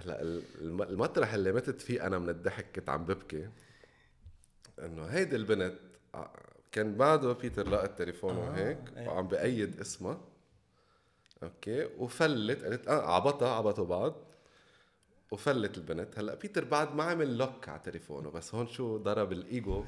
هلا المطرح اللي متت فيه انا من الضحك كنت عم ببكي انه هيدي البنت كان بعده بيتر لقى التليفون وهيك وعم بأيد اسمها. اوكي وفلت قالت عبطوا بعض وفلت البنت. هلا بيتر بعد ما عمل لوك على تليفونه بس هون شو ضرب الايجو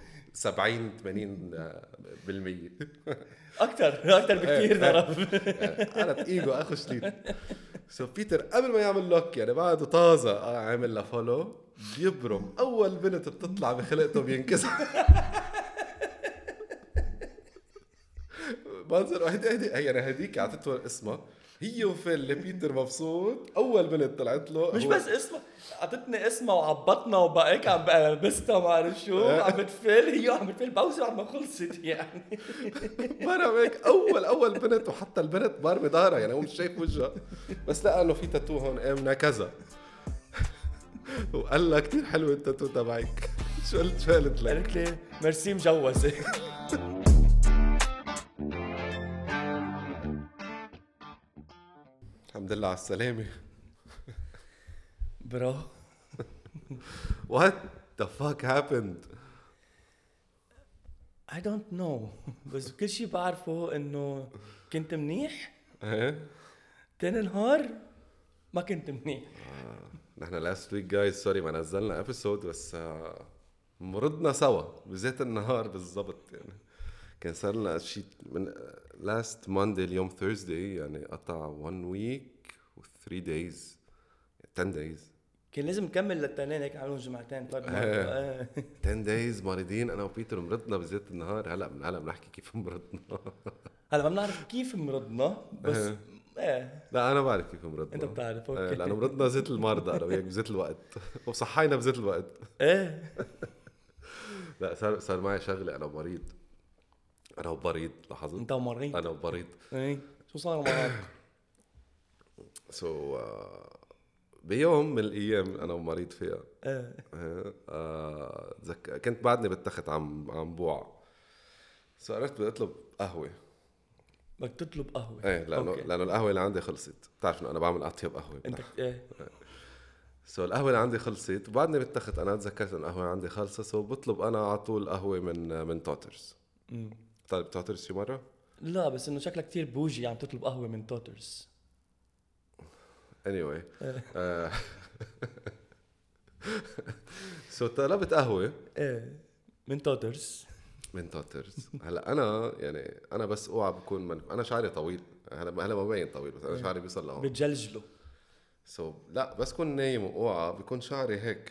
70-80%. اكثر بكثير ضرب. قالت ايجو اخو شليت. سو بيتر قبل ما يعمل لوك يعني بعده طازه عامل له فولو بيبرم اول بنت بتطلع بخلقته بينكسر. منظر هيدي يعني هديك اعطته اسمها هي وفيل بيتر مبسوط اول بنت طلعت له مش هو بس اسمها، عطتني اسمها وعبطنا وبقيك عم بلبسها ما بعرف شو عم بتفل، هي عم بتفل بوزي عم خلصت يعني. مرة هيك اول بنت وحتى البنت بارمي ظهرها يعني هو مش شايف وجهها بس لقى انه في تاتو هون امنا كذا. وقال لها كتير حلو التاتو تبعك. شو قالت لك؟ قالت لي ميرسي مجوزة. الحمد لله على السلامة. برو. What the fuck happened? I don't know. بس كل شي بعرفه انه كنت منيح، ايه تاني نهار ما كنت منيح. نحن last week guys sorry ما نزلنا episode بس مرضنا سوا بذات النهار بالضبط يعني. كان صار لنا شيء من last Monday اليوم Thursday يعني قطع 1 week و 3 days 10 days. كان لازم نكمل للتنين هيك عملوا جمعتين طيب. 10 days مريضين انا وبيتر مرضنا بذات النهار. هلا بنحكي كيف مرضنا. هلا ما بنعرف كيف مرضنا بس لا انا بعرف كيف مرضنا. انت بتعرف اوكي. لانه مرضنا زيت المرضى انا وياك بذات الوقت وصحينا بذات الوقت. لا صار معي شغله انا مريض. انا وبريض لاحظت انت مريض. انا وبريض. ايه شو صار معك؟ بيوم من الايام انا ومريض فيها كنت بعدني بالتخت عم بوع. قررت بدي اطلب قهوه. بدك تطلب قهوه؟ ايه لانه القهوه اللي عندي خلصت. بتعرف انه انا بعمل اطيب قهوه انت ايه القهوه اللي عندي خلصت وبعدني بالتخت انا تذكرت انه القهوه عندي خلصت بطلب انا على طول قهوه من توترز. طيب توترز شي مره؟ لا بس انه شكلك كتير بوجي عم تطلب قهوه من توترز. anyway طلبت قهوه من توترز. هلا انا يعني انا بس اوعى بكون انا شعري طويل. هلا ما بين طويل بس انا شعري بيوصل لهون بتجلجله. لا بس كون نايم واوعى بيكون شعري هيك.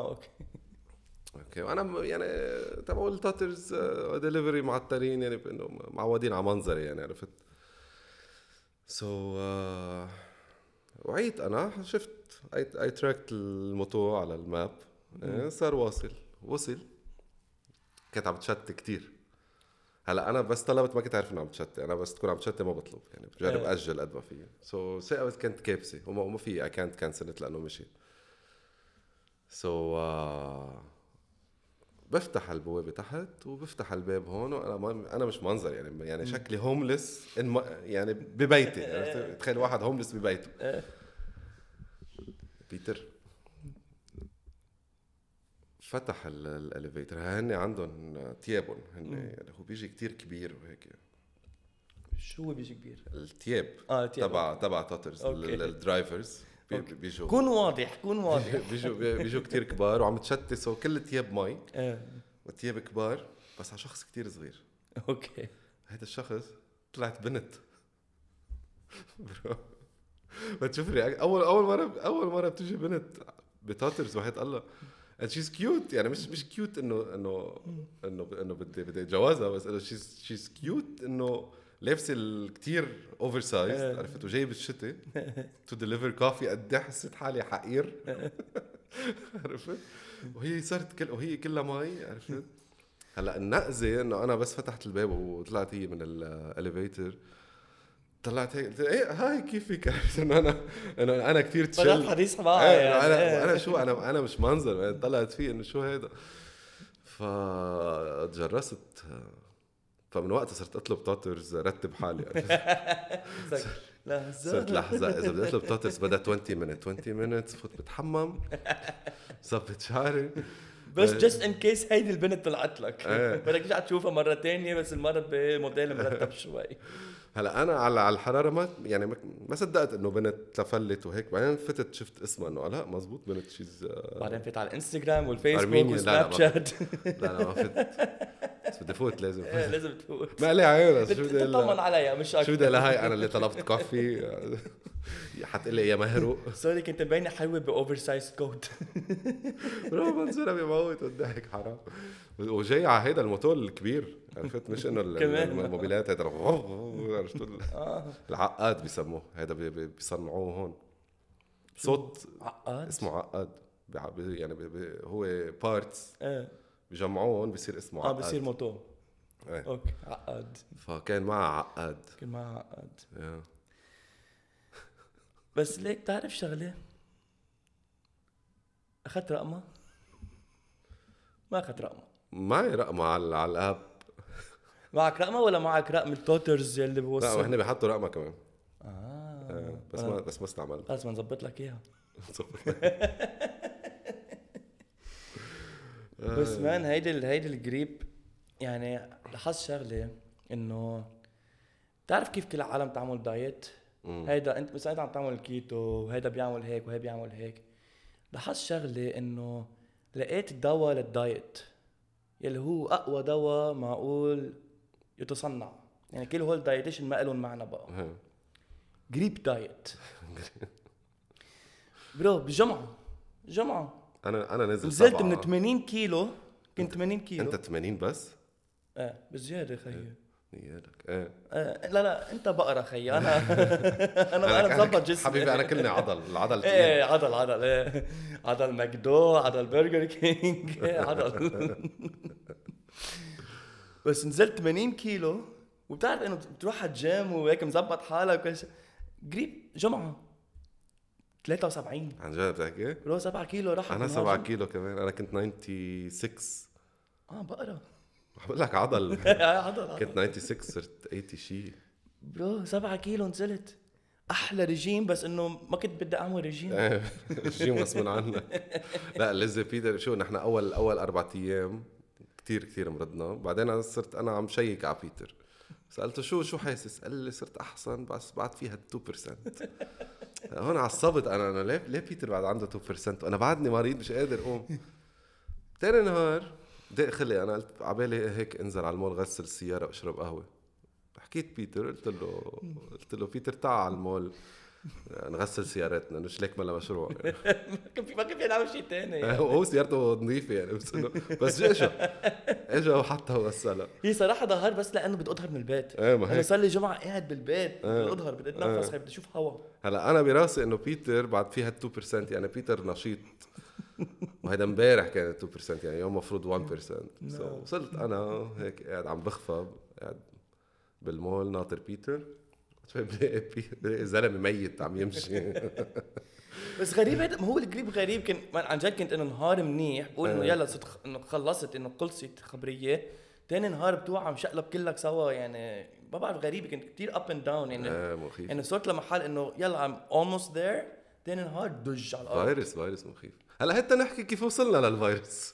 اوكي وانا يعني تبع التوترز ديليفري معطلين يعني بانه معودين على منظري يعني عرفت. وعيت انا شفت اي تراكت الموتور على الماب صار وصل كنت عم تشتي كتير. هلا انا بس طلبت ما كنت عارف انه عم تشتي. انا بس تكون عم تشتي ما بطلب يعني بجرب اجل قد ما في. ساعات كنت كابسه وما في اي كانت كانسلت لانه مشي. بفتح البوابه تحت وبفتح الباب هون وانا انا مش منظر يعني شكلي هوملس يعني ببيتي. تخيل واحد هوملس ببيته. بيتر فتح الاليفيتر. هن عندهم تيابون يعني هو بيجي كتير كبير وهيك. شو بيجي كبير؟ التياب تبع توترز الدرايفرز بيجوا كون واضح بيجوا كتير كبار وعم تشتت وكل التياب مي والتياب كبار بس على شخص كتير صغير. اوكي هذا الشخص طلعت بنت. بتشوف اول مره بتجي بنت بتوترز واحد الله and she's cute يعني مش cute انه بدي اتجوزها بس انه she's cute انه لابسه كتير اوفر سايز عرفت وجاي بالشتاء تو ديليفر كوفي. قد حسيت حالي حقير عرفت. وهي صارت وهي كلها مي عرفت. هلا النقزه انه انا بس فتحت الباب وطلعت هي من الاليفيتر طلعت هيك ايه هاي كيفك انه انا كثير تشيل حديث معي انا شو انا مش منظر طلعت فيه انه شو هيدا. فتجرست فمن وقتها صرت اطلب توترز رتب حالي صرت لحظة إذا بدي أطلب بطاطس بدها 20 minutes فوت بتحمم صبت شعري بس جست ان كيس هيدي البنت طلعت لك بدك ترجع تشوفها مرة تانية بس المرة بموديل مرتب شوي. هلا أنا على الحرارة ما يعني ما صدقت إنه بنت تفلت وهيك بعدين فتت شفت اسمها إنه لا مزبوط بنت شيز بعدين فيت على الانستغرام والفيسبوك أرمينيا. وسناب شات. لا ما فت بس بدي فوت لازم لازم تفوت. ما لي عيون شو بدي تطمن عليها مش اكثر. شو بدي لهاي انا اللي طلبت كوفي حتقلي يا مهرو سوري كنت مبينة حلوة باوفر سايز كوت. برو منظرها بيموت والضحك حرام وجاي على هيدا الموتور الكبير عرفت مش انه الموبيلات هيدا العقاد بيسموه هيدا بيصنعوه هون صوت عقاد اسمه عقاد يعني هو بارتس بيجمعوهم بيصير اسمه عقاد بيصير موتور ايه. اوكي عقاد فكان معه عقاد كان معه عقاد yeah. بس ليك تعرف شغله اخذت رقمها ما اخذت رقمها معي رقمها على الاب معك رقمها ولا معك رقم التوترز اللي بوصل لا هن بيحطوا رقمها كمان بس ما استعملت خلص بنظبط لك اياها بس مان هيدي الجريب يعني لاحظت شغله انه تعرف كيف كل العالم تعمل دايت هيدا انت مثلا عم تعمل الكيتو وهيدا بيعمل هيك وهي بيعمل هيك لاحظت شغله انه لقيت دواء للدايت يلي هو اقوى دواء معقول يتصنع يعني كل هول دايتيشن ما لهم معنى بقى جريب دايت برو بجمعه انا نزلت من 80 كيلو كنت 80 كيلو انت 80 بس بزياده خيي يالك لا انت بقرة خيي انا مظبط جسمي حبيبي انا كلني العضل عضل ماكدو عضل برجر كينج عضل بس نزلت 80 كيلو وبتعرف انه بتروح على الجيم وهيك مظبط حالك وكل شيء قريب جمعه 73 عن جد بتحكي؟ رو 7 كيلو راح انا 7 كيلو كمان انا كنت 96 بقرة بقول لك عضل كنت 96 صرت 80 شيء برو 7 كيلو نزلت احلى رجيم بس انه ما كنت بدي اعمل رجيم رجيم غصب عنك لا لازم بيتر شو نحن اول 4 ايام كتير مرضنا بعدين انا صرت عم شيك على بيتر سالته شو حاسس قال لي صرت احسن بس بعد فيها 2% هون عصبت انا ليه بيتر بعد عنده 2% وانا بعدني مريض مش قادر اقوم تاني نهار دق خلي انا قلت عبالي هيك انزل على المول غسل السياره واشرب قهوه حكيت بيتر قلت له بيتر تعال على المول نغسل سيارتنا مش ليك ملا مشروع ما كان في نعمل شيء تاني يعني. هو سيارته نظيفه يعني بس اجا وحطها وغسلها هي صراحه ظهر بس لانه بدي اظهر من البيت انا صار لي جمعه قاعد بالبيت بدي اظهر بدي اتنفس بدي اشوف هوا هلا انا براسي انه بيتر بعد فيها 2% يعني بيتر نشيط وهذا امبارح كان 2% يعني يوم مفروض 1% وصلت انا هيك قاعد عم بخفى قاعد بالمول ناطر بيتر زلمه ميت عم يمشي بس غريب هذا هو الجريب غريب كان عن جد كنت انه نهار منيح بقول انه يلا انه خلصت انه خلصت خبريه تاني نهار بتوعى مشقلب كلك سوا يعني ما بعرف غريب كنت كتير اب اند داون يعني يعني صرت لمحل انه يلا ام اولموست ذير تاني نهار دج على الارض فيروس مخيف هلا حتى نحكي كيف وصلنا للفيروس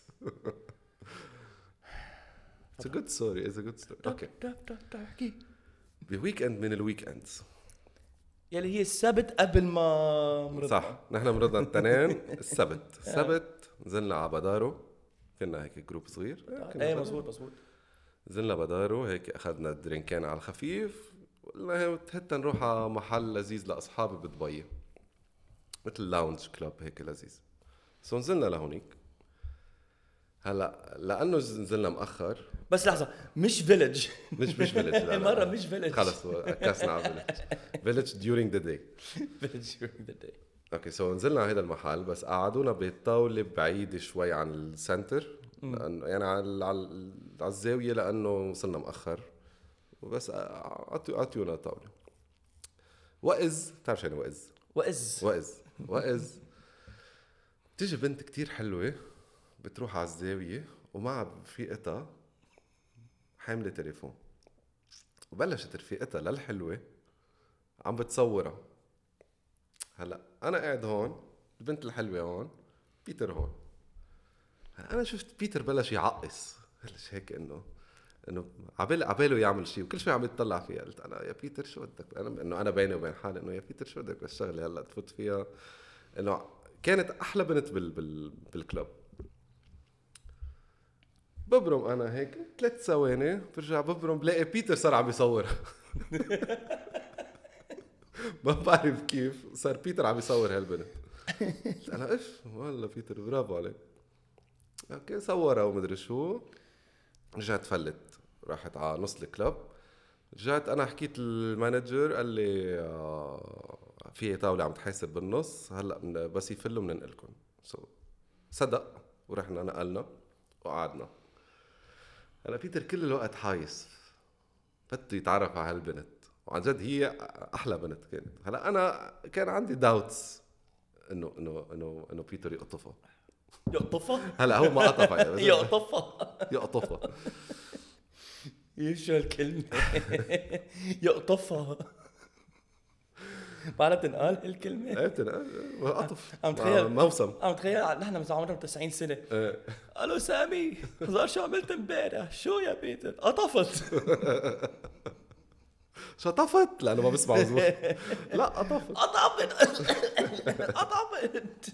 It's a good story اوكي تحكي بويك اند من الويك اندز يلي هي السبت قبل ما مرضنا صح نحن مرضنا الاثنين السبت نزلنا على بدارو كنا هيك جروب صغير مزبوط نزلنا بدارو هيك اخذنا درينكين على الخفيف قلنا حتى نروح على محل لذيذ لاصحابي بدبي مثل لاونج كلوب هيك لذيذ سو نزلنا لهونيك هلا لانه نزلنا مؤخر بس لحظه مش فيلج مش فيلج المره مش فيلج خلص كاسنا على فيلج during the day اوكي سو نزلنا على هذا المحل بس قعدونا بطاوله بعيده شوي عن السنتر لانه يعني على الزاويه لانه وصلنا مؤخر وبس عطيونا طاوله وإذ تعرف شو يعني وإذ تيجي بنت كتير حلوه بتروح على الزاويه ومعها رفيقتها حامله تليفون وبلشت رفيقتها للحلوه عم بتصورها. هلا انا قاعد هون، البنت الحلوه هون، بيتر هون. انا شفت بيتر بلش يعقص، بلش هيك انه عباله يعمل شيء، وكل شوي عم يتطلع فيها. قلت انا يا بيتر شو بدك، انا بيني وبين حالي انه يا بيتر شو بدك بالشغله هلا تفوت فيها. انه كانت احلى بنت بالكلب. ببرم انا هيك 3 ثواني، برجع ببرم بلاقي بيتر صار عم يصور. ما بعرف كيف صار بيتر عم يصور هالبنت. قلت انا اف والله بيتر برافو عليك. اوكي صورها ومدري شو. رجعت فلت، راحت على نص الكلب. رجعت انا حكيت المانجر، قال لي في طاوله عم تحاسب بالنص هلا، بس يفلوا بننقلكم. صدق، ورحنا نقلنا وقعدنا. هلا بيتر كل الوقت حايس، بده يتعرف على هالبنت، وعن جد هي احلى بنت كانت. هلا انا كان عندي داوتس انه بيتر يقطفها. يقطفها. هلا هو ما قطفها يعني، بس يقطفها. يقطفها. شو الكلمة؟ يقطفها. بعرف تنقال هالكلمة. ايه قطف عم تخيل موسم. عم تخيل نحن مثلا عمرنا 90 سنة. الو سامي، صار شو عملت امبارح؟ شو يا بيتر؟ قطفت. شطفت لانه ما بسمع مزبوط. لا قطفت. قطفت.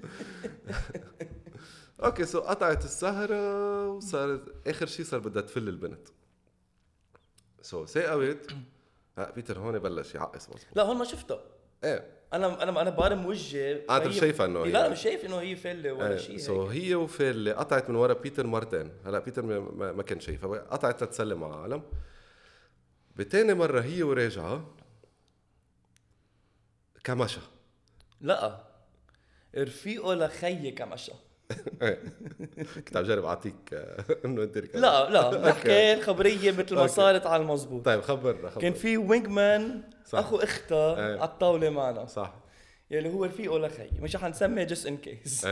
اوكي سو قطعت السهرة، وصار اخر شيء صار بدها تفل البنت. سو ثاقبت. بيتر هون بلش يعقص مزبوط. لا هون ما شفته. ايه انا بارم وجهي. انت مش شايفه انه لا مش شايف انه هي فله ولا شيء سو هيك. هي وفيل قطعت من ورا بيتر مرتين. هلا بيتر ما كان شايفها، قطعت تتسلم على العالم. بتاني مرة هي وراجعة كمشة. لا رفيقه لخيي كمشى. كنت عم جرب اعطيك انه انت لا نحكي الخبريه مثل ما صارت على المزبوط. طيب خبرنا. كان في وينج مان اخو اختها ايه. على الطاوله معنا، صح، يلي هو رفيقه لخي، مش حنسميه جست ان كيس.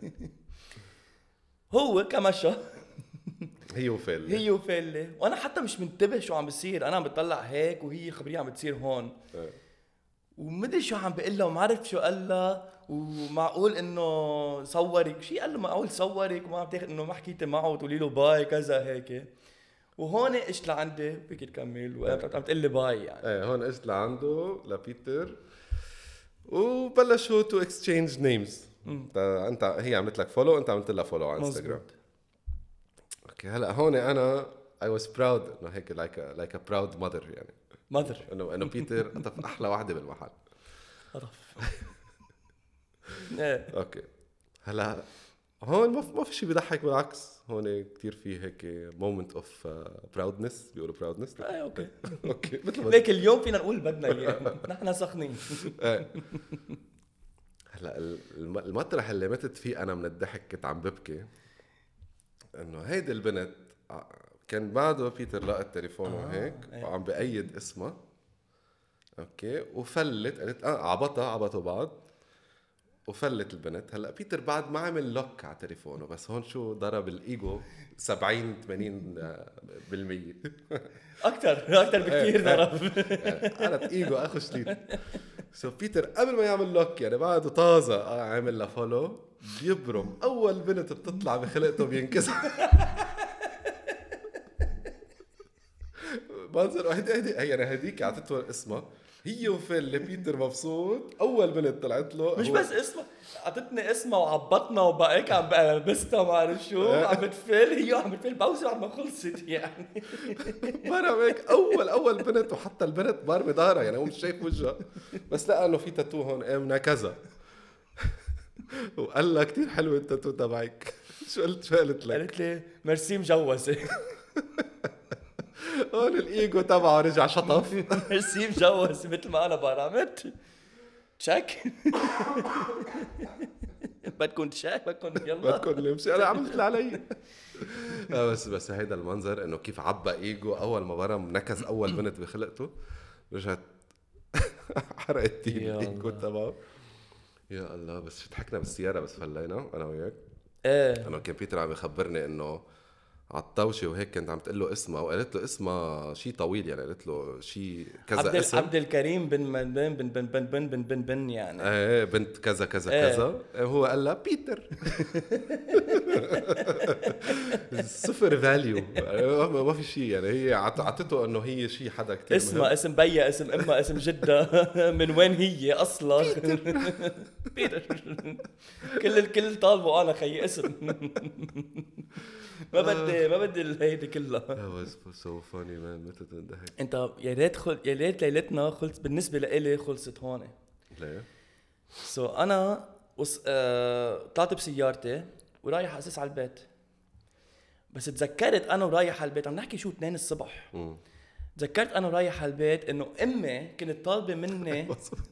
هو كمشى هي وفيل. هي وفله، وانا حتى مش منتبه شو عم بيصير. انا عم بطلع هيك وهي خبريه عم بتصير هون. ومدري شو عم بقول لها وما عرفت شو قال لها. ومعقول انه صورك شيء، قال له معقول صورك وما عم تاخذ انه ما حكيتي معه وتقولي له باي كذا هيك. وهون اجت لعندي فيك تكمل وعم تقول لي باي يعني. ايه هون اجت لعنده لبيتر وبلشوا تو اكسشينج نيمز. انت هي عملت لك فولو، انت عملت لها فولو على انستغرام. اوكي هلا هون انا I was proud انه هيك like a proud mother يعني. ماذر انه بيتر قطف احلى واحده بالمحل. قرف. اوكي هلا هون ما في شيء بيضحك، بالعكس هون كتير في هيك مومنت اوف براودنس، بيقولوا براودنس. اوكي اوكي مثل ما ليك اليوم فينا نقول بدنا اياه. نحن سخنين. هلا المطرح اللي متت فيه انا من الضحك كنت عم ببكي. انه هيدي البنت كان بعده بيتر لقى تليفونه هيك وعم بأيد اسمها. اوكي وفلت، قالت عبطوا بعض وفلت البنت. هلا بيتر بعد ما عمل لوك على تليفونه، بس هون شو ضرب الايجو 70-80%. اكثر بكثير ضرب. قالت ايجو اخو شديد. سو بيتر قبل ما يعمل لوك يعني بعده طازه عامل له فولو، بيبرم اول بنت بتطلع بخلقته بينكسر. منظر هيدي يعني هديك اعطته اسمها هي وفيل. بيتر مبسوط، اول بنت طلعت له مش بس اسمها، اعطتني اسمها وعبطنا وبقيك عم بلبسها ما بعرف شو عم بتفل. هي عم بتفل بوزر عم خلصت يعني. مرة هيك اول بنت، وحتى البنت بارمي ظهرها يعني هو مش شايف وجهها، بس لقى انه في تاتو هون امنا كذا. وقال لها كتير حلو التاتو تبعك. شو قلت لك؟ قالت لي ميرسي مجوزه. هون الايجو تبعه رجع شطف. ميرسي مجوز مثل ما انا برمت تشيك. بدكم تشيك، بدكم يلا بدكم نمشي، انا عملت اللي علي. بس هيدا المنظر انه كيف عبى ايجو اول ما برم نكز اول بنت بخلقته، رجعت حرقت الايجو تبعه. يا الله. بس ضحكنا بالسياره بس فلينا انا وياك. ايه انا كان بيتر عم يخبرني انه على الطاوشه وهيك كانت عم تقول له اسمها وقالت له اسمها شيء طويل يعني قالت له شيء كذا اسم عبد الكريم بن يعني ايه بنت كذا كذا ايه. كذا هو قال لها بيتر. صفر فاليو ما في شيء يعني هي عطته انه هي شيء حدا كتير اسمها مهم. اسم بيا اسم امها اسم جدة من وين هي اصلا بيتر كل طالبه انا خيي اسم ما بدي هيدي كلها. That was so funny man متى تنضحك. انت يا ريت ليلتنا خلص بالنسبه لإلي خلصت هون. ليه؟ انا طلعت بسيارتي ورايح اساس على البيت بس تذكرت انا ورايح على البيت عم نحكي شو 2 الصبح. تذكرت انا ورايح على البيت انه امي كانت طالبه مني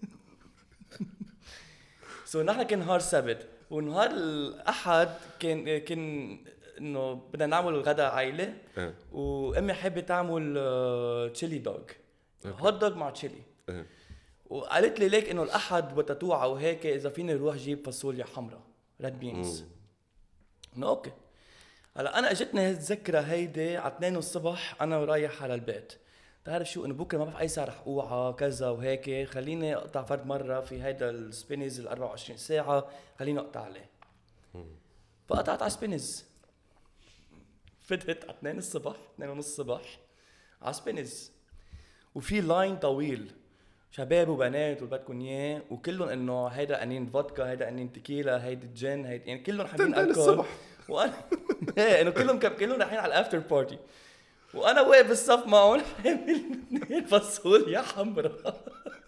نحن كان نهار سبت ونهار الاحد كان انه بدنا نعمل الغداء عائله وامي حابه تعمل تشيلي دوغ هوت دوغ مع تشيلي وقالت لي ليك انه الاحد بتتوعى وهيك اذا فيني اروح جيب فاصوليا حمراء ريد بينز. اوكي هلا انا اجتني هالذكرى هيدي على 2 الصبح انا ورايح على البيت. تعرف شو انه بكره ما بعرف اي ساعه رح اوعى كذا وهيك خليني اقطع فرد مره في هيدا السبينز ال 24 ساعه خليني اقطع عليه. فقطعت على سبينز فتت على 2 الصبح 2 ونص الصبح على سبينز وفي لاين طويل شباب وبنات وبدكم اياه وكلهم انه هيدا قنين فودكا هيدا قنين تيكيلا هيدا جين هيدا يعني كلهم حابين الكحول وانا ايه انه كلهم رايحين على الافتر بارتي وانا واقف بالصف معهم حامل 2 فاصوليا حمراء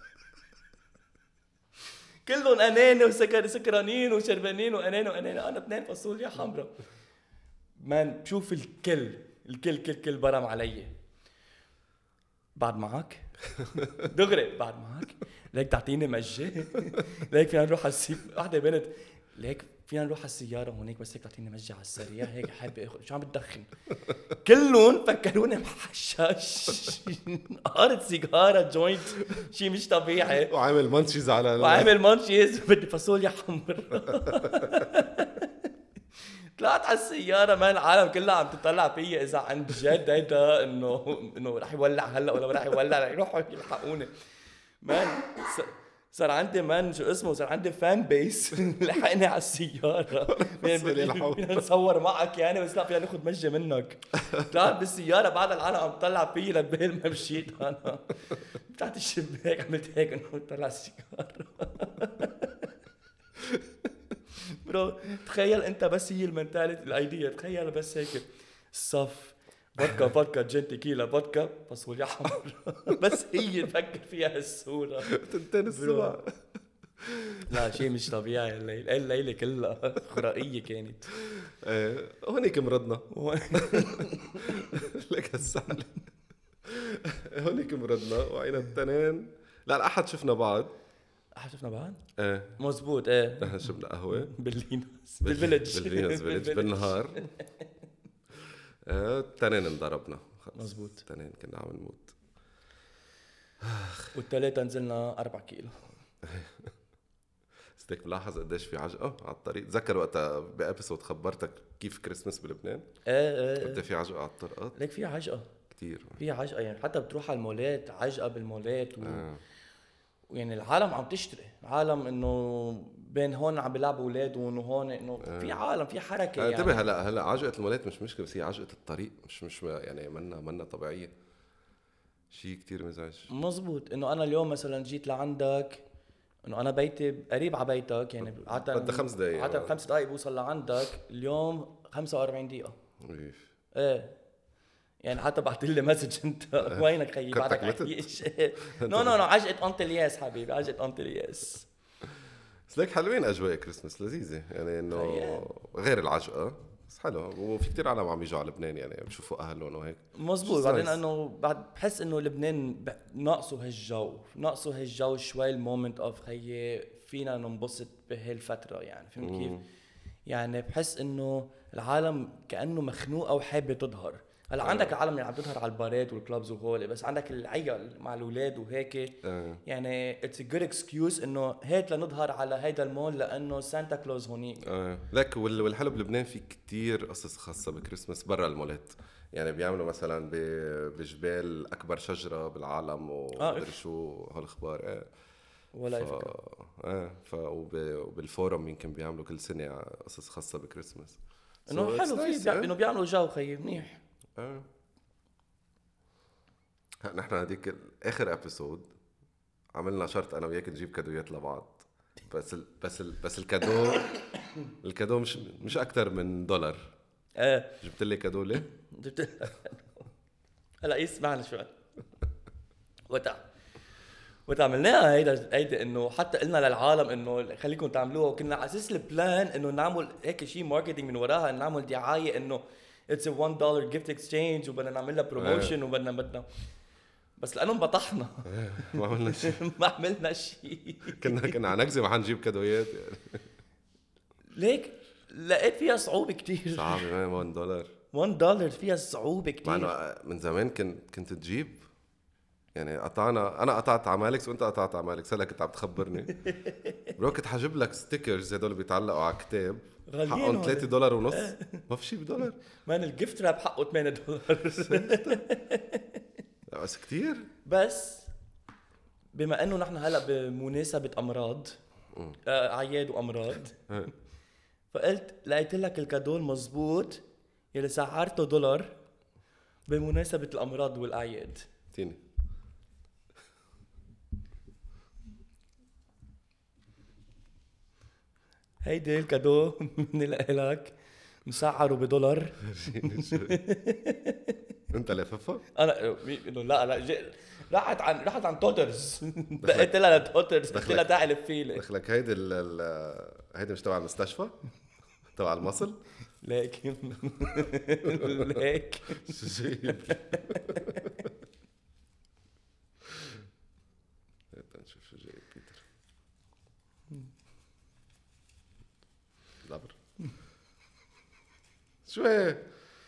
كلهم انانه وسكرانين وشربانين وانانه انا 2 فاصوليا حمراء مان. بشوف الكل برم علي بعد معك دغري بعد معك ليك تعطيني مجه ليك فينا نروح على واحدة بنت ليك فينا نروح على السيارة هونيك بس هيك تعطيني مجه على السريع هيك حابة اخذ شو عم بتدخن. كلهم فكروني محشش قارت سيجارة جوينت شي مش طبيعي وعامل مانشيز على بدي فاصوليا حمراء. طلعت على السيارة مان العالم كلها عم تطلع فيا إذا عن جد هيدا إنه رح يولع هلا ولا رح يولع رح يروحوا يلحقوني مان. صار عندي مان شو اسمه صار عندي فان بيس لحقني على السيارة فينا نصور معك يعني بس لا فينا ناخد مجة منك. طلعت بالسيارة بعد العالم عم تطلع فيي لبال ما مشيت أنا فتحت الشباك عملت هيك إنه طلع السيارة. برو تخيل انت بس هي المنتاليتي الايديا تخيل بس هيك الصف فودكا جين تيكيلا فودكا فاصوليا حمراء بس هي تفكر فيها هالصورة 2 الصبح. لا شيء مش طبيعي الليلة كلها خرائية كانت. هونيك مرضنا لك هالسهل هونيك مرضنا وعينا التنين لا الأحد شفنا بعض شفنا بعض؟ ايه مزبوط ايه نحن شربنا قهوة باللينوس بالفيلج بالنهار. تنين انضربنا مزبوط تنين كنا عم نموت والثلاثة نزلنا 4 كيلو. استيك ملاحظ قديش في عجقة على الطريق. تذكر وقتها بأبيسود خبرتك كيف كريسمس بلبنان قد في عجقة على الطرقات. ليك في عجقة كتير في عجقة يعني حتى بتروح على المولات عجقة بالمولات يعني العالم عم تشتري العالم انه بين هون عم بيلعبوا اولادهم وهون انه في عالم في حركه يعني. انتبه هلا عجقه المولات مش مشكله بس هي عجقه الطريق مش يعني منا طبيعيه شيء كتير مزعج. مزبوط انه انا اليوم مثلا جيت لعندك انه انا بيتي قريب على بيتك يعني بدها 5 دقائق عاده 5 دقائق بوصل لعندك اليوم 45 دقيقه. ايه يعني حتى بعت لي مسج انت وينك خيي بعدك عايش. نو عجقه انطلياس حبيبي عجقه انطلياس. بس ليك حلوين اجواء كريسمس لذيذه يعني انه غير العجقه بس حلو وفي كتير عالم عم يجوا على لبنان يعني بشوفوا اهلهم وهيك مزبوط. بعدين انه بعد بحس انه لبنان ناقصه هالجو شوي المومنت اوف خيي فينا ننبسط بهالفتره يعني فهمت كيف يعني بحس انه العالم كانه مخنوقه وحابه تظهر هلا عندك العالم اللي عم تظهر على البارات والكلوبز وهول، بس عندك العيال مع الاولاد وهيك يعني اتس ا جود اكسكيوز انه هيك لنظهر على هيدا المول لانه سانتا كلوز هونيك. لك والحلو بلبنان في كتير قصص خاصه بكريسماس برا المولات. يعني بيعملوا مثلا بجبال اكبر شجره بالعالم ومدري شو هالاخبار. ولا فكره. وبالفورم يمكن بيعملوا كل سنه قصص خاصه بكريسماس. انه حلو في انه بيعملوا جو خيي منيح. نحن هذيك اخر ابيسود عملنا شرط انا وياك نجيب كادويات لبعض، بس الكادو مش اكثر من $. جبت لي كادو ليه؟ هلا يسمعنا شوي. وقت عملناها هيدا انه حتى قلنا للعالم انه خليكم تعملوها، وكنا على اساس البلان انه نعمل هيك شيء ماركتينج من وراها، نعمل دعايه انه اتس $1 gift exchange وبدنا نعمل لها بروموشن وبدنا بس لانه انبطحنا ما عملنا شيء. ما عملنا شيء. كنا عم نكذب ما حنجيب كادويات يعني. ليك لقيت فيها صعوبه كتير. صعبه. $1 فيها صعوبه كتير. من زمان كنت تجيب يعني انا قطعت على مالكس وانت قطعت على مالكس. هلا كنت عم تخبرني برو كنت حجيب لك ستيكرز هدول بيتعلقوا على كتاب حقهم $3.50. ما في شيء $1. مان الجيفت راب حقه $8. بس كتير. بس بما انه نحن هلا بمناسبه امراض اعياد وامراض فقلت لقيت لك الكادو المزبوط يلي سعرته $1 بمناسبه الامراض والاعياد. تيني هيدي الكادو من لك مسعره $1. انت لاففها؟ انا انه لا راحت عن توترز. دقيت لها لتوترز قلت لها تعال فيلي دخلك هيدي مش تبع المستشفى تبع المصل ليك جيب نشوف شو جاي بيتر. لابر شو هي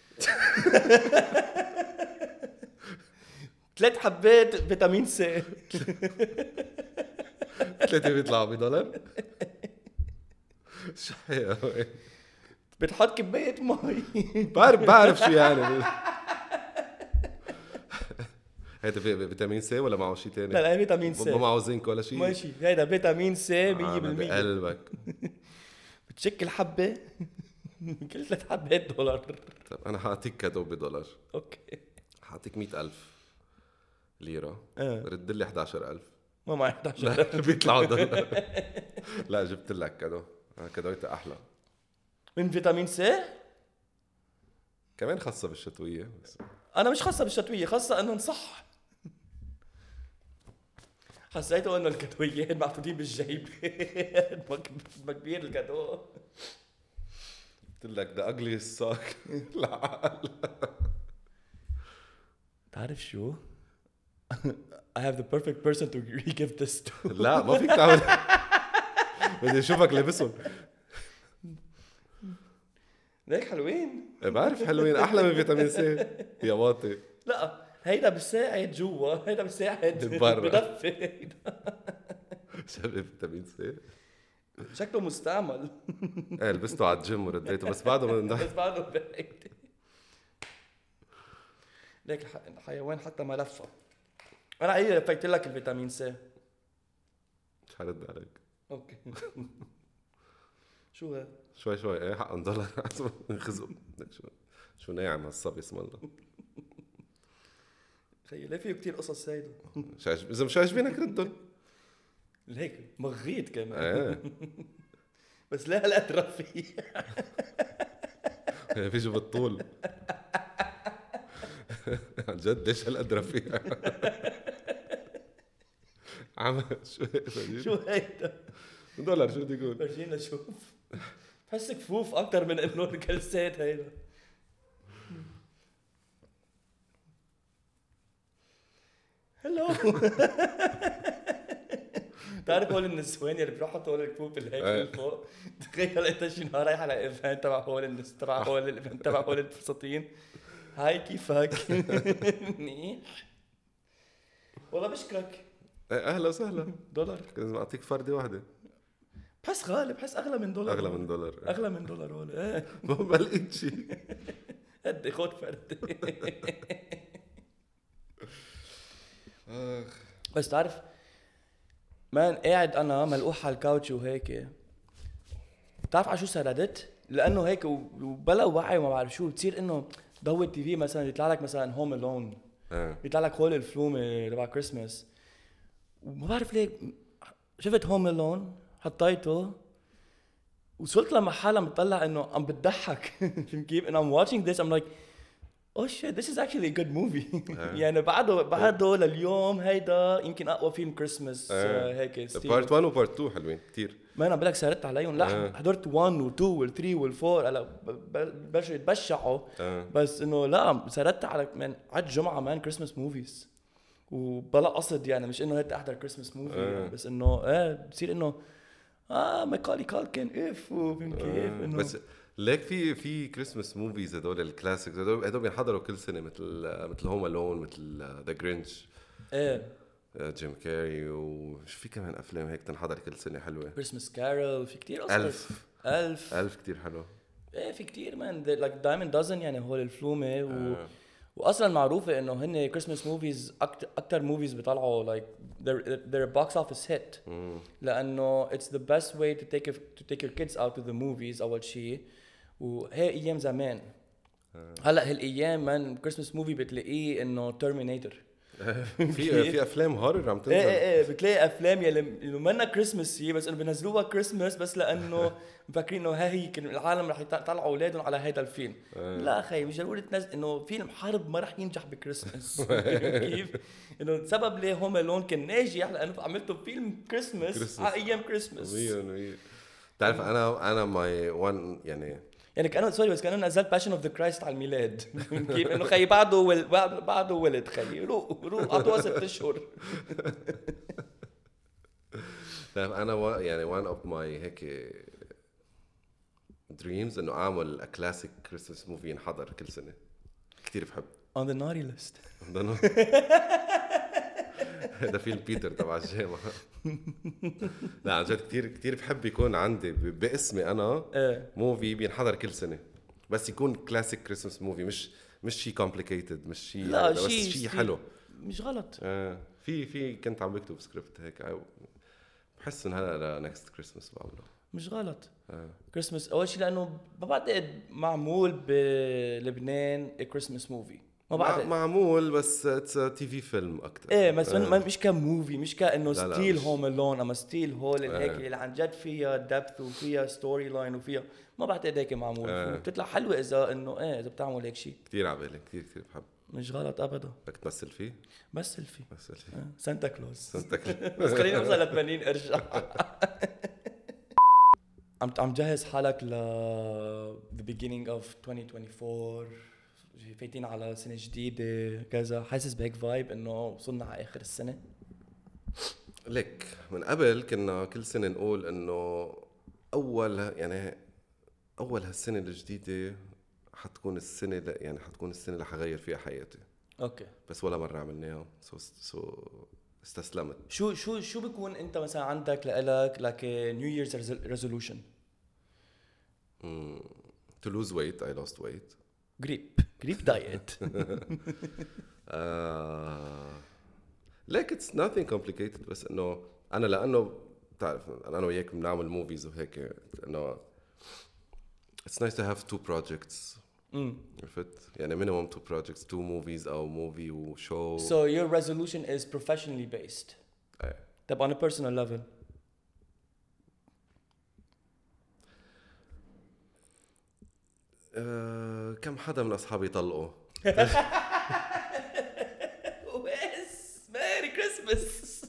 3 حبات فيتامين سي 3 بيطلعوا $1. شو هي بتحط كباية مي. بعرف شو يعني. هيدا فيتامين سي ولا معه شيء تاني؟ لا فيتامين سي ما معه زنك ولا شيء. ماشي هيدا فيتامين سي 100%. بقلبك بتشكل حبة كل 3 حبات $1. طب انا حاعطيك كادو $1. اوكي حاعطيك 100,000 ليرة رد لي 11,000. ما معي 11,000 بيطلعوا $1. لا جبت لك كادو. كادويته احلى من فيتامين سي كمان خاصة بالشتوية. بس انا مش خاصة بالشتوية، خاصة انه نصح. حسيته انه الكادويات محطوطين بالجيب. ما كبير الكادو. قلت لك ده اغلي الساك. العقل تعرف شو I have the perfect person to give this to. لا ما فيك تعمل. بدي اشوفك لابسهم. ليك حلوين. بعرف حلوين احلى من فيتامين سي يا واطي. لا هيدا بساعد جوا هيدا بساعد بدفي. شباب فيتامين سي شكله مستعمل. لبسته على الجيم ورديته بس بعده بس بعده بعيد. ليك الحيوان حتى ما لفه. انا عيني لفيت لك الفيتامين سي. مش هرد عليك. اوكي. شو هذا؟ شوي ايه حق $1 نخزق. شو ناعم هالصبي اسم الله. خيي ليه فيه كتير قصص هيدا. اذا مش عاجبينك ردهم. هيك مغيت كمان. بس لا هالقد رفيع. بيجوا بالطول. عن جد ليش هالقد رفيع. عم شو هيدا $1 شو بدي يقول. فرجينا شوف. بحس كفوف اكتر من انه الكلسات هيدا. هلو. تعرف هول النسوان اللي بيروحوا طول الكفوف اللي هيك من فوق. تخيل انت شي نهار رايح على ايفنت تبع هول الناس تبع هول الايفنت تبع هول الفساتين هاي كيفك؟ منيح والله بشكرك. اهلا وسهلا. دولار لازم اعطيك فردة واحدة. بحس غالي، بحس اغلى من دولار. اغلى من دولار. اغلى من دولار ولا ايه؟ ما لقيت شيء. قد خد فرد. بس تعرف مان قاعد انا ملقوح على الكاوتش وهيك، بتعرف على شو سردت؟ لانه هيك وبلا وعي وما بعرف شو بتصير، انه ضوي التي في مثلا يطلع لك مثلا هوم الون، يطلع لك هول الفلومه تبع كريسماس، وما بعرف ليه شفت هوم الون حطيته وصلت لمحل عم بطلع انه عم بتضحك. فهمت كيف؟ انه I'm watching this I'm like oh shit this is actually a good movie. يعني بعده لليوم هيدا يمكن اقوى فيلم كريسماس هيك ستيل. بارت 1 وبارت 2 حلوين كتير. ما انا بقولك سهرت عليهم. لا حضرت 1 و 2 و 3 و 4 هلا بلشوا يتبشعوا. بس انه لا سهرت على من عد جمعه مان كريسماس موفيز وبلا قصد، يعني مش انه هيك احضر كريسماس موفي بس انه بصير انه ماكالي كالكن اف وفهمت كيف انه بس ليك في كريسماس موفيز هدول الكلاسيكس هدول بينحضروا كل سنه مثل هوم الون مثل ذا جرينش جيم كاري وش في كمان افلام هيك تنحضر كل سنه حلوه. كريسماس كارول في كتير اصلا. ألف كتير حلو. في كتير مان لايك دايموند دازن يعني هول الفلومه واصلا معروفه انه هن كريسماس موفيز اكثر موفيز بيطلعوا لايك they're a box office hit لانه it's the best way to take your kids out to the movies اول شيء. وهي ايام زمان. هلا هالايام من كريسماس موفي بتلاقيه انه ترمينيتور. في افلام هورر عم تنزل. ايه بتلاقي افلام يلي منا كريسماس بس انه بينزلوها كريسماس بس لانه مفكرين انه هي العالم رح يطلعوا اولادهم على هذا الفيلم. لا اخي مش ضروري تنزل انه فيلم حرب ما رح ينجح بكريسماس. كيف انه السبب ليه هوم الون كان ناجح لانه عملته فيلم كريسماس على ايام كريسماس. تعرف انا ماي وان يعني كانه سوري بس كانه نزلت باشن اوف ذا كرايست على الميلاد. كيف انه خي بعده ولد خي روح اعطوها 6 اشهر. تعرف انا يعني one of my هيك dreams انه اعمل a classic Christmas movie ينحضر كل سنه. كتير بحب on the naughty list. هذا فيلم بيتر تبع الجامعة. لا عن جد كتير بحب يكون عندي باسمي أنا موفي بينحضر كل سنة بس يكون كلاسيك كريسمس موفي مش شيء كومبليكيتد مش شيء بس شيء حلو مش غلط. في كنت عم بكتب سكريبت هيك بحس إن هلا نكست كريسمس بعمله مش غلط. كريسمس أول شيء لأنه ما بعتقد معمول بلبنان كريسمس موفي. معمول بس اتس تي في فيلم اكثر. ايه بس مش كموفي مش كانه ستيل هوم الون اما ستيل هول هيك اللي عن جد فيها دبث وفيها ستوري لاين وفيها ما بعتقد هيك معمول. بتطلع حلوه اذا انه اذا بتعمل هيك شيء. كثير عبالي كثير بحب. مش غلط ابدا. بدك تمثل فيه؟ مثل فيه سانتا كلوز. بس خلينا نوصل ل 80 ارجع. عم جهز حالك ل the beginning of 2024 فايتين على سنة جديدة كذا، حاسس بهيك فايب انه وصلنا على اخر السنة؟ لك من قبل كنا كل سنة نقول انه اول هالسنة الجديدة حتكون السنة حتكون السنة اللي حغير فيها حياتي. اوكي. بس ولا مرة عملناها استسلمت. شو بيكون انت مثلا عندك لك نيو ييرز ريزولوشن؟ to lose weight I lost weight. Greek diet. like it's nothing complicated بس انه انا لانه بتعرف انا وياك بنعمل موفيز وهيك انه it's nice to have two projects. عرفت يعني minimum two projects, two movies او movie و show. So your resolution is professionally based. طب on a personal level كم حدا من أصحابي طلقوا؟ بس ميري كريسمس.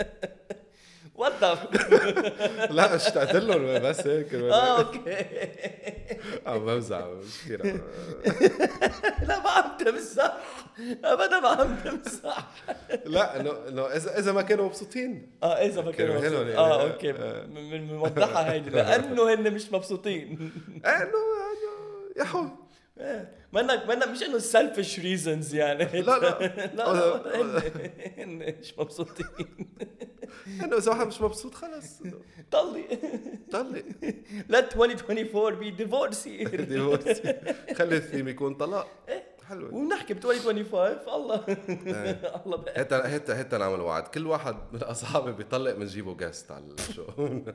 وضف. لا اشتقت لهم بس هيك. اوكي. عم بمزح مش كثير. لا ما عم تمزح ابدا ما عم تمزح. لا انه اذا ما كانوا مبسوطين. اذا ما كانوا مبسوطين. اوكي من موضحها هيدي لانه هن مش مبسوطين. انه يا حو منك مش انه selfish reasons يعني. لا لا هن مش مبسوطين. انه اذا واحد مش مبسوط خلص طلي طلق. let 2024 be divorce year. ديفورس. خلي الثيم يكون طلاق. حلو. ونحكي ب 2025 الله الله بقى. هتا نعمل وعد، كل واحد من اصحابي بيطلق بنجيبه جاست على الشو.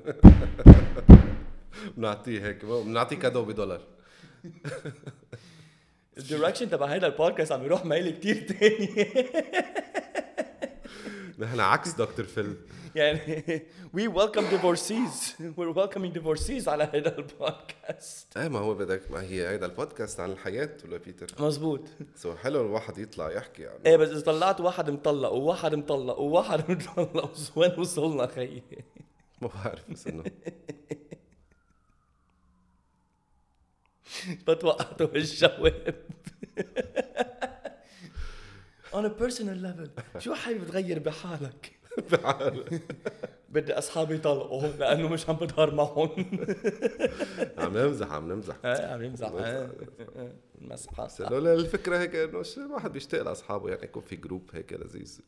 بنعطيه هيك، بنعطيه كادو $1. الدايركشن تبع هيدا البودكاست عم يروح مايل كتير تاني. نحن عكس دكتور فيل. يعني we welcome divorcees. we're welcoming divorcees على هيدا البودكاست. ايه ما هو بدك، ما هي هيدا البودكاست عن الحياة ولا بيتر؟ مزبوط. سو حلو الواحد يطلع يحكي يعني. ايه بس اذا طلعت واحد مطلق وواحد مطلق وواحد مطلق وين وصلنا خيي؟ ما بعرف بس انه بتوقعته بالجواب. on a personal level شو حابب تغير بحالك؟ بدي اصحابي يطلقوا لانه مش عم بظهر معهم. عم نمزح عم يمزح مسحه. بس لولا الفكرة هيك انه الواحد بيشتاق لاصحابه، يعني يكون في جروب هيك لذيذ.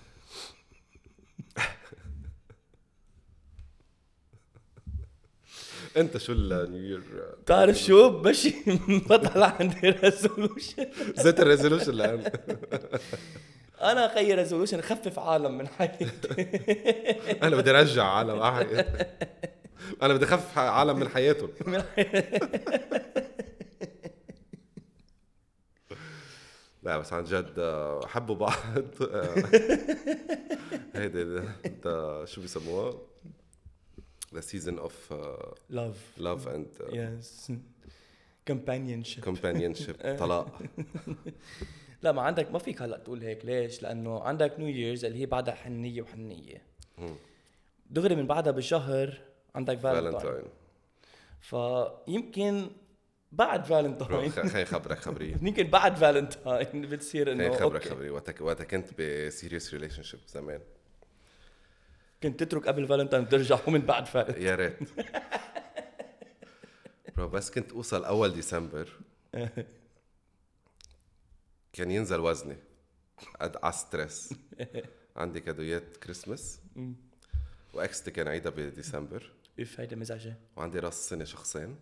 انت شو النيو يير؟ تعرف شو ماشي بطلع عندي ريزولوشن. زيت الريزولوشن لان انا اخير ريزولوشن خفف عالم من حياتي. انا بدي ارجع عالم انا بدي اخفف عالم من حياتهم. لا بس عن جد حبوا بعض. هيدا شو بيسموها؟ the season of love and yes companionship. طلاق. لا ما عندك، ما فيك هلا تقول هيك. ليش؟ لانه عندك نيو ييرز اللي هي بعدها حنيه وحنيه، دغري من بعدها بشهر عندك فالنتاين. فيمكن بعد فالنتاين خليني خبريه يمكن بعد فالنتاين بتصير انه خبريه وقتها كنت بسيريس ريليشن شيب زمان، كنت تترك قبل فالنتاين وترجع ومن بعد فالنتاين. يا ريت. بس كنت اوصل اول ديسمبر كان ينزل وزني على ستريس. عندي كادويات كريسمس واكستي كان عيدها بديسمبر، اف هيدا مزعجه، وعندي راس سنه شخصين،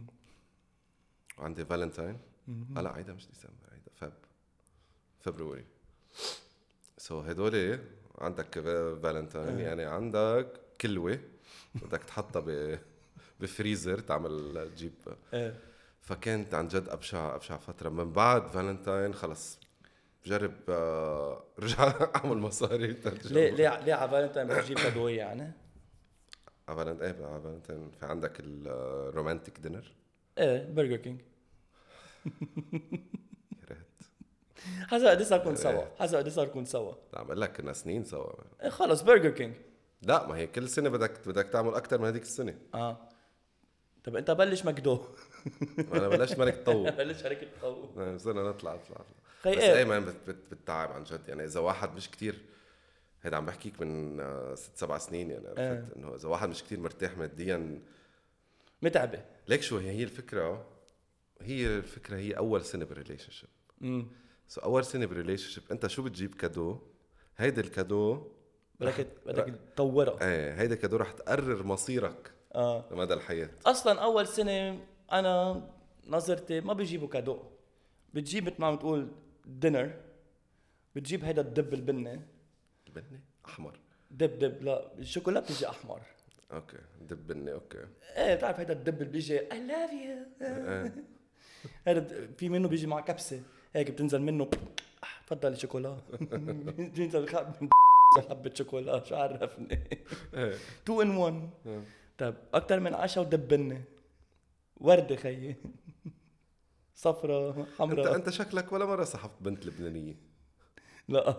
وعندي فالنتاين. لا عيدها مش ديسمبر، عيدها فبراير. سو هدول عندك فالنتاين يعني عندك كلوة بدك تحطها بفريزر تعمل تجيب. فكانت عن جد أبشع فترة. من بعد فالنتاين خلص بجرب رجع أعمل مصاري. ليه على فالنتاين بتجيب كادوية يعني؟ على فالنتاين في عندك الرومانتيك دينر. برجر كينج. حسب قد صار كون سوا. لا عم لك كنا سنين سوا. خلص برجر كينج. لا ما هي كل سنة بدك تعمل أكتر من هذيك السنة. طب أنت بلش مكدو. أنا بلشت ملك طو. بلش شركة طو. صرنا نطلع. بس أيمن بتتعب عن جد يعني. إذا واحد مش كتير، هيدا عم بحكيك من 6-7 سنين يعني. عرفت إنه إذا واحد مش كتير مرتاح ماديا متعبة. ليك شو هي الفكرة هي أول سنة بالريليشن شيب. أول سنة بالريليشن شيب أنت شو بتجيب كادو؟ هيدا الكادو بدك تطوره. هيدا كادو رح تقرر مصيرك لمدى الحياة. أصلاً أول سنة أنا نظرتي ما بيجيبوا كادو، بتجيب مثل ما عم تقول دينر، بتجيب هيدا الدب البني أحمر. دب لا الشوكولا بتجي أحمر. أوكي دب بني. أوكي بتعرف هيدا الدب اللي بيجي I love you. هذا في منه بيجي مع كبسة هيك بتنزل منه تفضل الشوكولا. بتنزل حبة شوكولا شو عرفني. 2 in 1. طيب أكتر من 10 ودبنة وردة خيي صفرة حمراء. أنت شكلك ولا مرة صحفت بنت لبنانية؟ لا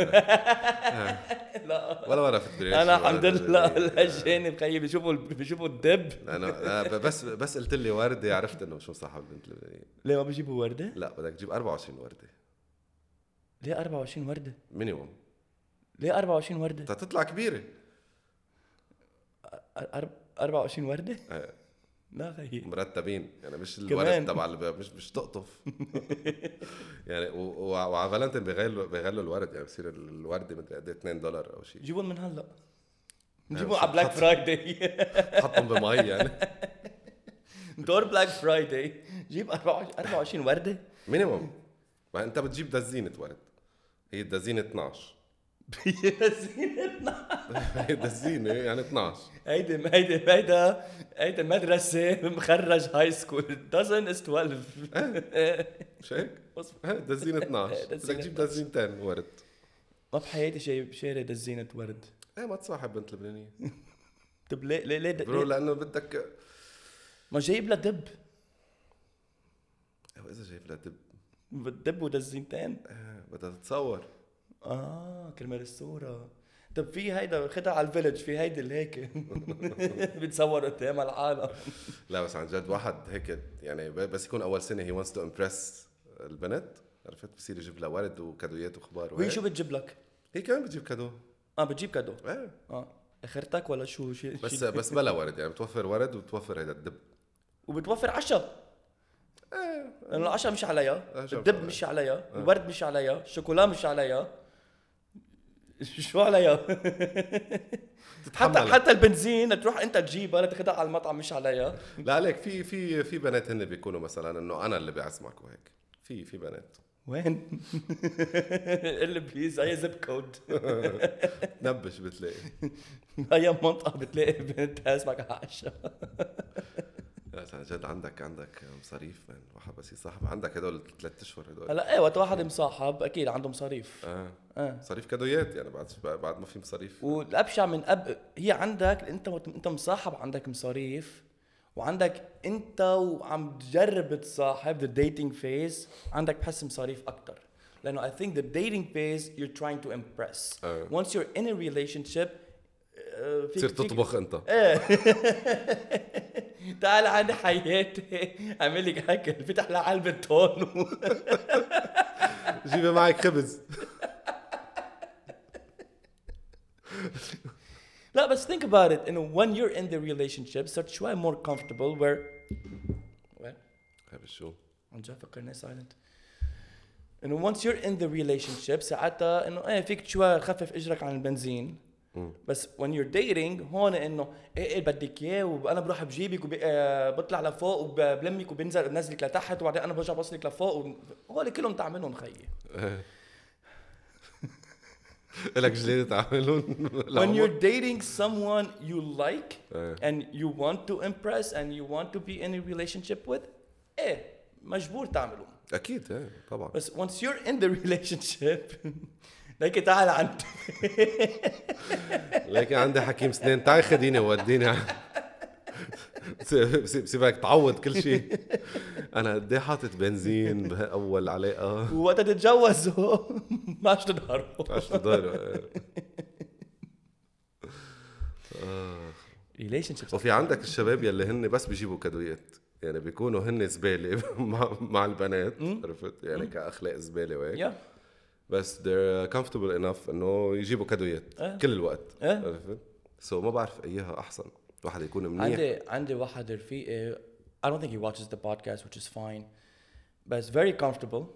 ولا مرة في الدنيا. أنا الحمد لله الأجانب خيي بيشوفوا الدب. أنا بس قلت لي وردة عرفت إنه مش مصاحب بنت لبنانية. ليه ما بيجيبوا وردة؟ لا بدك تجيب 24 وردة. ليه 24 وردة؟ مينيموم. ليه 24 وردة؟ تطلع كبيرة. 24 وردة؟ لا خيي مرتبين يعني، مش كمان. الورد تبع مش تقطف. يعني وعلى فالنتين بيغلوا الورد، يعني بصير الورده مدري قد $2 او شيء. جيبون من هلا، مش نجيبهم على بلاك فرايداي. تحطهم بمي يعني. دور بلاك فرايداي جيب 24 ورده مينيموم. ما انت بتجيب دزينه ورد، هي الدزينه 12. هي دزينه يعني 12. هيدا مدرسة مخرج هاي سكول. dozen is 12. مش هيك؟ دزينه 12 بدك تجيب دزينتين ورد. ما بحياتي شاري دزينة ورد. ايه ما تصاحب بنت لبنانيه. طب ليه برو لانه بدك ما جايب لها دب. اذا جايب لها دب دب ودزينتين. بدها تتصور. كرمال الصورة. طب في هيدا خدها على الفيلج، في هيدا اللي هيك بتصور قدام العالم. لا بس عن جد واحد هيك يعني بس يكون اول سنه هي wants to impress البنت، عرفت؟ بصير يجيب لها ورد وكادويات وخبار. وهي شو بتجيب لك؟ هي كمان بتجيب كادو. بتجيب كادو. اخرتك ولا شو شيء؟ بس بلا ورد يعني، بتوفر ورد وبتوفر هيدا الدب وبتوفر عشاء. لأنه العشاء مش عليها، الدب مش عليها، الورد مش عليها، الشوكولا مش عليها. شو عليها؟ حتى البنزين تروح انت تجيبها لا تاخذها على المطعم مش عليها. لا عليك في بنات هن بيكونوا مثلا انه انا اللي بعزمك وهيك. في بنات وين؟ اللي بليز اي زب كود. نبش بتلاقي اي منطقه بتلاقي بنت تعزمك على عشاء. عن جد عندك مصاريف من واحد بس يصاحب، عندك هدول 3 اشهر هدول. هلا وقت واحد مصاحب اكيد عنده مصاريف. مصاريف كادويات يعني، بعد ما في مصاريف. والابشع من هي عندك انت مصاحب، عندك مصاريف، وعندك انت وعم تجرب تصاحب the dating phase عندك بحس مصاريف اكتر. لانه I think the dating phase you're trying to impress. Once you're in a relationship تصير تطبخ انت. تعال عندي حياتي اعمل لك اكل، فتح لها علبه تون. جيبي معك خبز. لا بس think about it, when you're in the relationship صرت شوي more comfortable where شو عم جاي فكرني silent. once you're in the relationship ساعتها انه فيك شوي خفف اجرك عن البنزين. بس when you're dating هون انه ايه بدك اياه، وانا بروح بجيبك وبطلع لفوق وبلمك وبنزل بنزلك لتحت وبعدين انا برجع بوصلك لفوق هول كلهم تعملهم خيي. لك جليد تعملون. when you're dating someone you like and you want to impress and you want to be in a relationship with مجبور تعملهم اكيد طبعا. بس once you're in the relationship لكن تعال عندي لكن عندي حكيم سنين، تعال خديني ووديني. سيبك تعوض كل شيء. انا قد ايه حاطط بنزين باول علاقه، وقت تتجوزوا ما عادش تظهروا. relationships. وفي عندك الشباب يلي هن بس بيجيبوا كادويات، يعني بيكونوا هن زباله مع البنات، عرفت يعني كاخلاق زباله وهيك. بس they're comfortable enough انه يجيبوا كادويات كل الوقت. عرفت؟ ما بعرف ايها احسن، واحد يكون منيح. عندي واحد رفيقي I don't think he watches the podcast which is fine but it's very comfortable.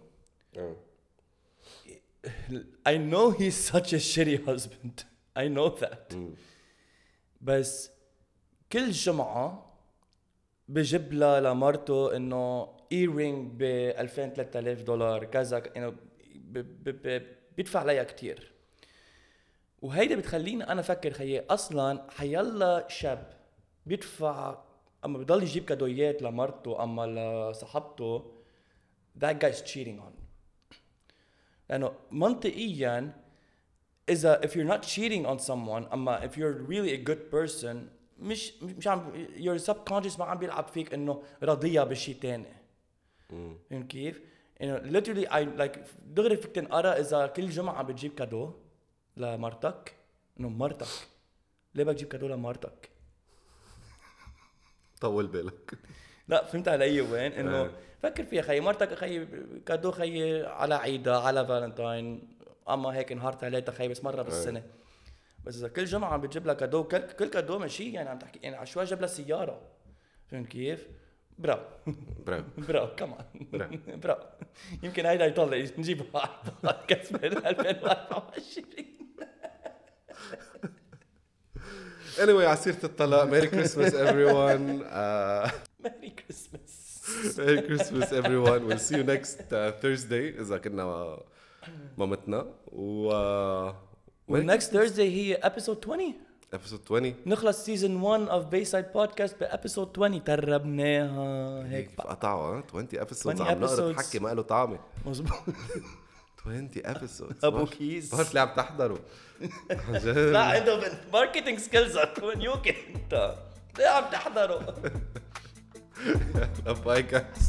I know he's such a shitty husband. I know that. بس كل جمعة بجيب لها لمرته انه earring ب $2000-3000 كذا، انه بيدفع لها كتير. وهيدا بتخليني انا افكر خيي اصلا حيلا شاب بيدفع اما بضل يجيب كادويات لمرته اما لصاحبته that guy's cheating on. لانه منطقيا اذا if you're not cheating on someone اما if you're really a good person مش عم your subconscious ما عم بيلعب فيك انه رضيها بشي تاني. فهمت كيف؟ انه literally I like دغري فيك تنقرا اذا كل جمعة بتجيب كادو لمرتك انه مرتك ليه بدك تجيب كادو لمرتك؟ طول بالك. لا فهمت علي وين؟ انه فكر فيها خيي، مرتك خيي كادو خيي على عيدها على فالنتاين اما هيك نهار ثلاثة خيي بس مرة بالسنة. بس اذا كل جمعة عم بتجيب لها كادو كل كادو ماشي يعني عم تحكي يعني عشوائي جاب لها سيارة فهمت كيف؟ برافو برافو برافو كمان برافو. يمكن هيدا يطلع نجيبه على البودكاست بال 2024. anyway على سيرة الطلاق ميري كريسماس everyone ميري كريسماس. Merry Christmas everyone. We'll see you next Thursday إذا كنا مامتنا next Thursday هي episode 20. episode 20 نخلص season 1 of Bayside Podcast بepisode 20. تربناها هيك كيف قطعوا 20 episodes 20 عم نقدر episodes. حكي ما له طعمه. مزبوط. 20 episodes أبو كيس. بعرف اللي عم تحضروا. لا عنده ماركتينج سكيلز ونيوكي انت ليه عم تحضروا؟ باي جايز.